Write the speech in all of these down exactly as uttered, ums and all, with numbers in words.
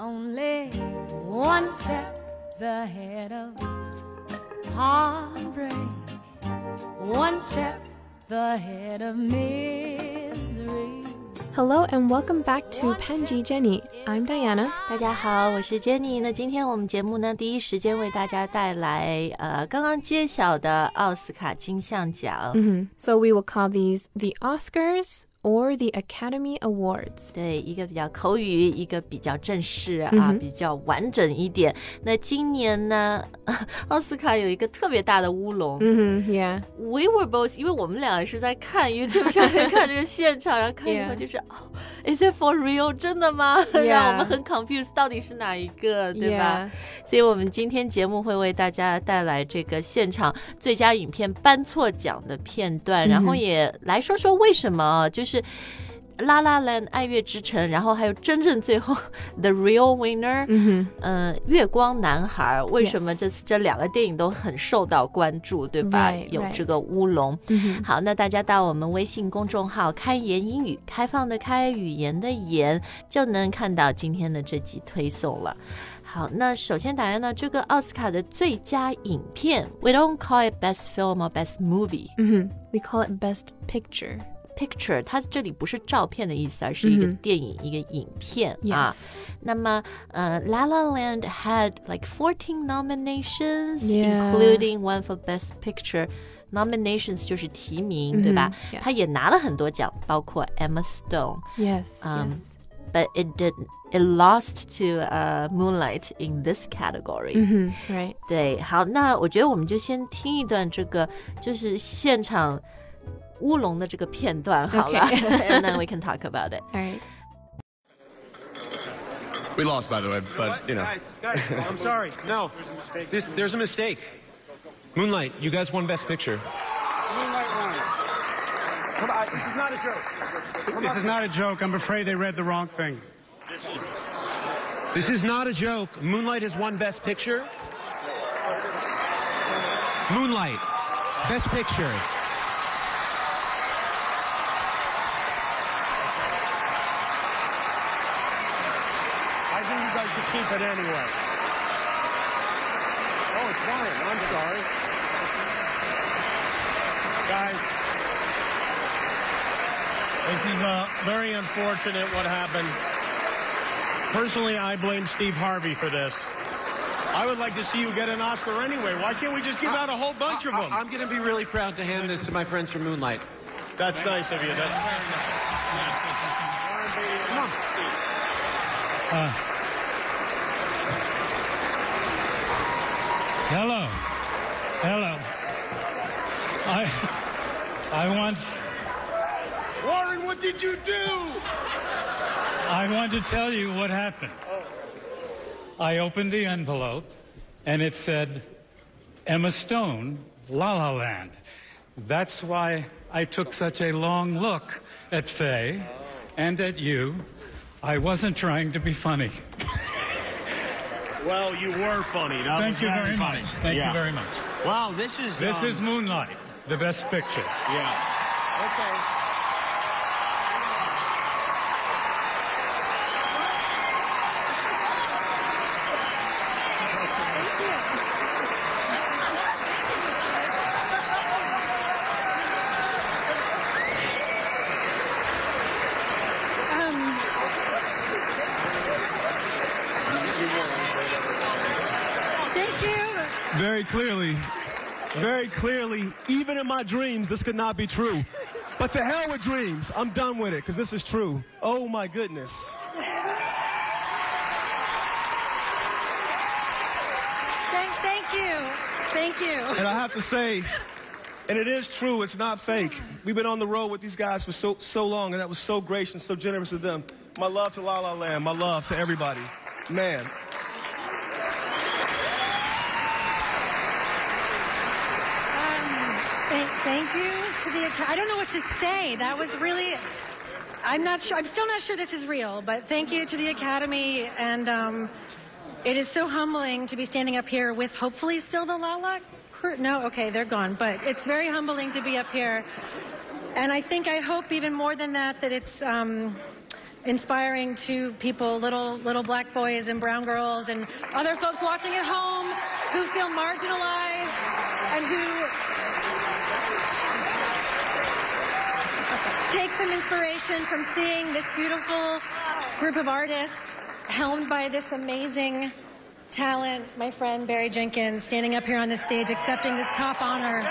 only one step ahead of heartbreak, one step ahead of misery. Hello and welcome back to 潘吉 Jenny. I'm Diana. 大家好，我是 Jenny。那今天我们节目呢，第一时间为大家带来呃刚刚揭晓的奥斯卡金像奖。 Mm-hmm. So we will call these the Oscars.Or the Academy Awards. 对，一个比较口语，一个比较正式、 嗯、 啊，比较完整一点。那今年呢，奥斯卡有一个特别大的乌龙。 嗯 yeah. We were both， 因为我们两个是在看 YouTube 上面看这个现场，然后看以后就是、yeah. 哦 ，Is it for real？ 真的吗？ Yeah. 让我们很 confused， 到底是哪一个，对吧？ Yeah. 所以我们今天节目会为大家带来这个现场最佳影片颁错奖的片段，然后也来说说为什么就是。是 La La Land 爱乐之城，然后还有真正最后 The Real Winner， 嗯、呃、月光男孩，为什么这次这两个电影都很受到关注，对吧？ Right, 有这个乌龙、 right. 好，那大家到我们微信公众号开言英语，开放的开，语言的言，就能看到今天的这集推送了。好，那首先打开呢，这个奥斯卡的最佳影片 We don't call it best film or best movie、 mm-hmm. We call it best picture.Picture， 它这里不是照片的意思，而是一个电影、mm-hmm. 一个影片、 yes. 啊。那么，呃 ，La La Land had like fourteen nominations, yeah. including one for Best Picture.Nominations 就是提名， mm-hmm. 对吧？ Yeah. 它也拿了很多奖，包括 Emma Stone. Yes. Um, yes. But it did. It lost to uh, Moonlight in this category. Mm-hmm. Right. 对，好，那我觉得我们就先听一段这个，就是现场。乌龙的这个片段好了 okay. And then we can talk about it. All right. We lost, by the way, but, you know. Guys, guys, I'm sorry. No, there's a mistake. This, there's a mistake. Moonlight, you guys won Best Picture. Moonlight won. Come on, this is not a joke. Come this on. is not a joke. I'm afraid they read the wrong thing. This is... This is not a joke. Moonlight has won Best Picture. Moonlight, Best Picture. I think you guys should keep it anyway. Oh, it's fine. I'm sorry. Guys, this is uh, very unfortunate what happened. Personally, I blame Steve Harvey for this. I would like to see you get an Oscar anyway. Why can't we just give out a whole bunch I, of them? I, I'm going to be really proud to hand this to my friends from Moonlight. That's nice of you. That's very nice. Come on. Uh, hello. Hello. I I want Warren, what did you do? I want to tell you what happened. I opened the envelope and it said Emma Stone, La La Land. That's why I took such a long look at Faye and at you. I wasn't trying to be funny. Well, you were funny. That Thank was you very, very funny. much. Thank yeah. you very much. Wow, this is... This um, is Moonlight, the best picture. Yeah. Okay. Very clearly, very clearly, even in my dreams, this could not be true. But to hell with dreams. I'm done with it, because this is true. Oh, my goodness. Thank, thank you. Thank you. And I have to say, and it is true, it's not fake. We've been on the road with these guys for so, so long, and that was so gracious, so generous of them. My love to La La Land. My love to everybody. Man. Thank, thank you to the, I don't know what to say. That was really, I'm not sure, I'm still not sure this is real, but thank you to the Academy. And um, it is so humbling to be standing up here with hopefully still the La La crew. No, okay, they're gone. But it's very humbling to be up here. And I think, I hope even more than that, that it's um, inspiring to people, little little black boys and brown girls and other folks watching at home who feel marginalized and who take some inspiration from seeing this beautiful group of artists helmed by this amazing talent, my friend Barry Jenkins, standing up here on the stage accepting this top honor.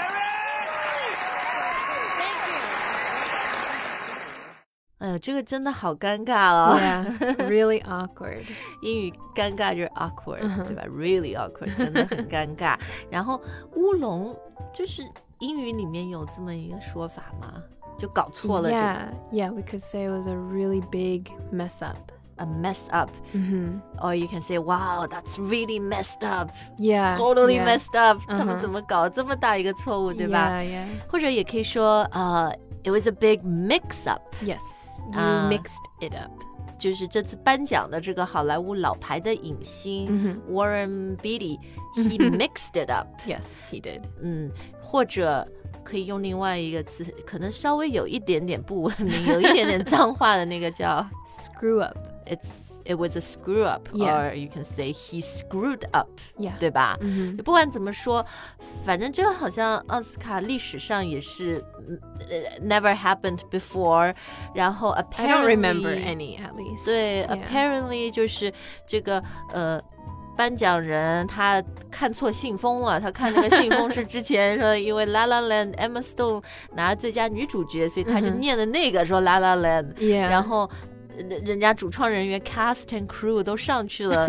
哎呦，这个真的好尴尬哦 Yeah, really awkward. 英语尴尬就是 awkward、 uh-huh. 对吧 Really awkward 真的很尴尬然后乌龙就是英语里面有这么一个说法吗就搞错了 Yeah, yeah, we could say it was a really big mess up. A mess up mm-hmm. Or you can say wow that's really messed up Yeah, Totally yeah. messed up、uh-huh. 他们怎么搞这么大一个错误对吧 Yeah, yeah. 或者也可以说呃、uh, It was a big mix-up. Yes, you、uh, mixed it up. 就是这次颁奖的这个好莱坞老牌的影星、mm-hmm. Warren Beatty, he mixed it up. Yes, he did. 嗯，或者可以用另外一个词，可能稍微有一点点不文明，有一点点脏话的那个叫 screw up. It's It was a screw up, yeah. or you can say he screwed up, yeah. 对吧、 mm-hmm. 不管怎么说反正这个好像奥斯卡历史上也是、uh, never happened before 然后 apparently I don't remember any at least 对、 yeah. apparently 就是这个呃颁奖人他看错信封了他看那个信封是之前说因为 La La Land Emma Stone 拿最佳女主角所以他就念的那个说 La La Land、 yeah. 然后人家主创人员 cast and crew 都上去了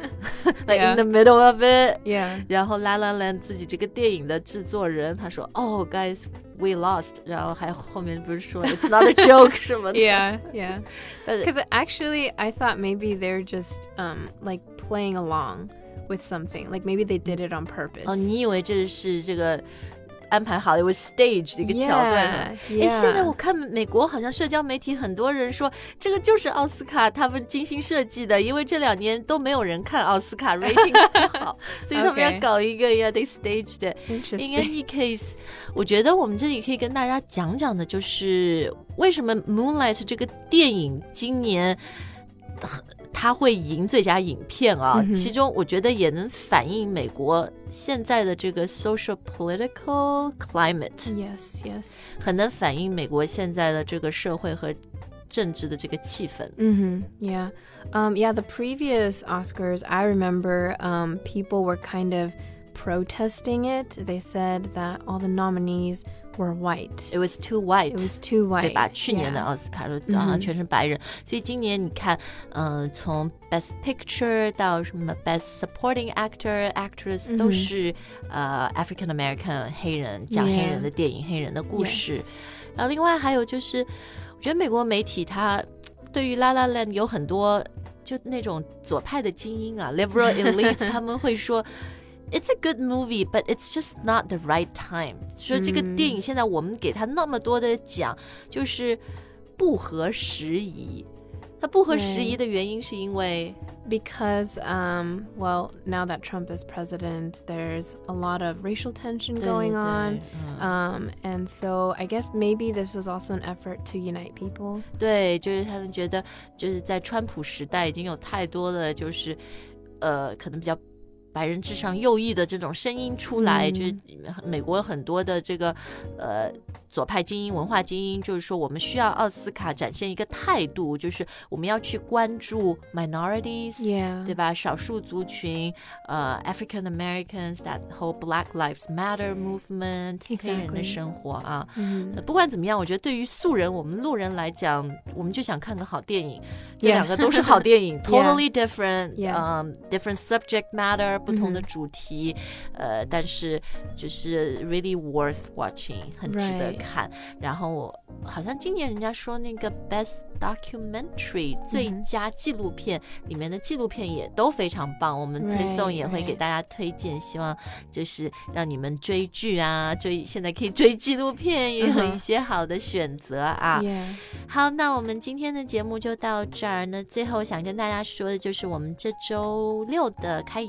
like yeah. in the middle of it yeah. 然后 La La Land 自己这个电影的制作人他说 Oh guys we lost 然后还后面不是说 It's not a joke 什么的 yeah yeah because actually I thought maybe they're just um like playing along with something like maybe they did it on purpose 哦你以为这是这个安排好了 it was staged 的一个桥段 yeah, yeah. 现在我看美国好像社交媒体很多人说这个就是奥斯卡他们精心设计的因为这两年都没有人看奥斯卡 rating 不好所以他们要搞一个 yeah they staged it in any case 我觉得我们这里可以跟大家讲讲的就是为什么 Moonlight 这个电影今年他会赢最佳影片啊、mm-hmm. 其中我觉得也能反映美国现在的这个 social political climate yes yes 很能反映美国现在的这个社会和政治的这个气氛 mm-hmm. yeah um yeah the previous Oscars I remember um people were kind of protesting it they said that all the nominees were white. It was too white. It was too white. 对吧？去年的奥斯卡都啊全是白人，所以今年你看，嗯、呃，从 Best Picture 到什么 Best Supporting Actor, Actress、嗯、都是呃 African American 黑人讲黑人的电影、yeah. 黑人的故事。Yes. 然后另外还有就是，我觉得美国媒体它对于 La La Land 有很多就那种左派的精英啊 ，liberal elites 他们会说。It's a good movie, but it's just not the right time. 说这个电影现在我们给它那么多的奖，就是不合时宜。它不合时宜的原因是因为 Because, um, well, now that Trump is president, there's a lot of racial tension going on. Um, and so I guess maybe this was also an effort to unite people. 对，就是他们觉得就是在川普时代已经有太多的就是呃可能比较白人至上右翼的这种声音出来、嗯、就是美国有很多的这个呃左派精英文化精英就是说我们需要奥斯卡展现一个态度就是我们要去关注 minorities、yeah. 对吧少数族群呃 African Americans that whole Black Lives Matter movement、exactly. 黑人的生活啊、嗯呃、不管怎么样我觉得对于素人我们路人来讲我们就想看个好电影这两个都是好电影、yeah. totally different、yeah. um, different subject matter不同的主题、嗯、呃，但是就是 really worth watching 很值得看、right. 然后好像今年人家说那个 best documentary、嗯、最佳纪录片里面的纪录片也都非常棒我们推送也会给大家推荐、right. 希望就是让你们追剧啊追现在可以追纪录片也有一些好的选择啊、uh-huh. yeah. 好那我们今天的节目就到这儿那最后想跟大家说的就是我们这周六的开言会员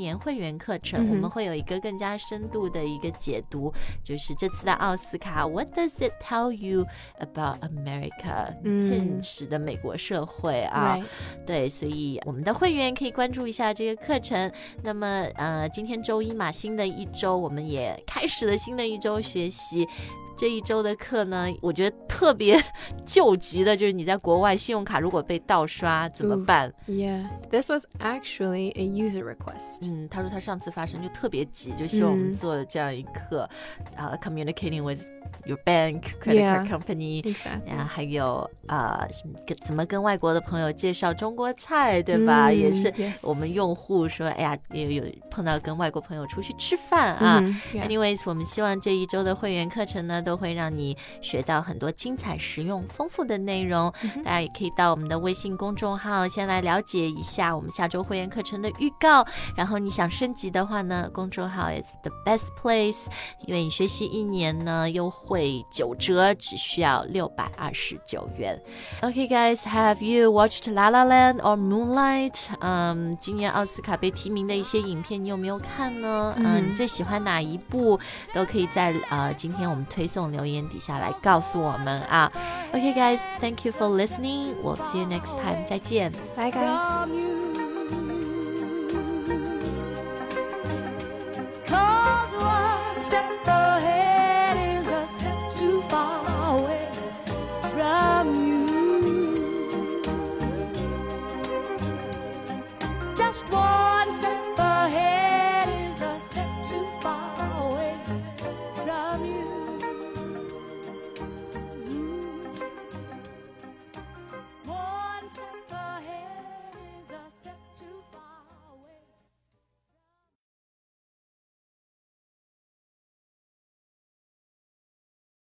员课程， 嗯、 我们会有一个更加深度的一个解读，就是这次的奥斯卡 What does it tell you about America、嗯、现实的美国社会啊、right. 对，所以我们的会员可以关注一下这个课程。那么呃，今天周一嘛，新的一周我们也开始了新的一周学习。这一周的课呢，我觉得特别救急的就是你在国外信用卡如果被盗刷怎么办？ Yeah, this was actually a user request. 嗯，他说他上次发生就特别急，就希望我们做这样一课、嗯 uh, communicating with your bank, credit yeah, card company, exactly. 然后还有啊、呃，怎么跟外国的朋友介绍中国菜，对吧？嗯、也是我们用户说，哎呀，也有碰到跟外国朋友出去吃饭啊。 嗯 yeah. Anyways， 我们希望这一周的会员课程呢，都会让你学到很多精彩、实用、丰富的内容。嗯、大家也可以到我们的微信公众号先来了解一下我们下周会员课程的预告。然后你想升级的话呢，公众号 is the best place， 因为你学习一年呢，优惠九折，只需要六百二十九元。Okay, guys, have you watched La La Land or Moonlight? 嗯，今年奥斯卡被提名的一些影片，你有没有看呢？嗯，嗯你最喜欢哪一部？都可以在呃今天我们推送留言底下来告诉我们啊。Okay, guys, thank you for listening. We'll see you next time. 再见。 Bye, guys. Cause one step